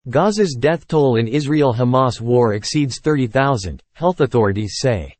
Gaza's death toll in Israel-Hamas war exceeds 30,000, health authorities say.